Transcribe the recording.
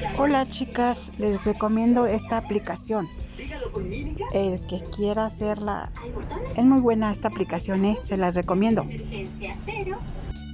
Hola chicas, les recomiendo esta aplicación. El que quiera hacerla, es muy buena esta aplicación, se las recomiendo.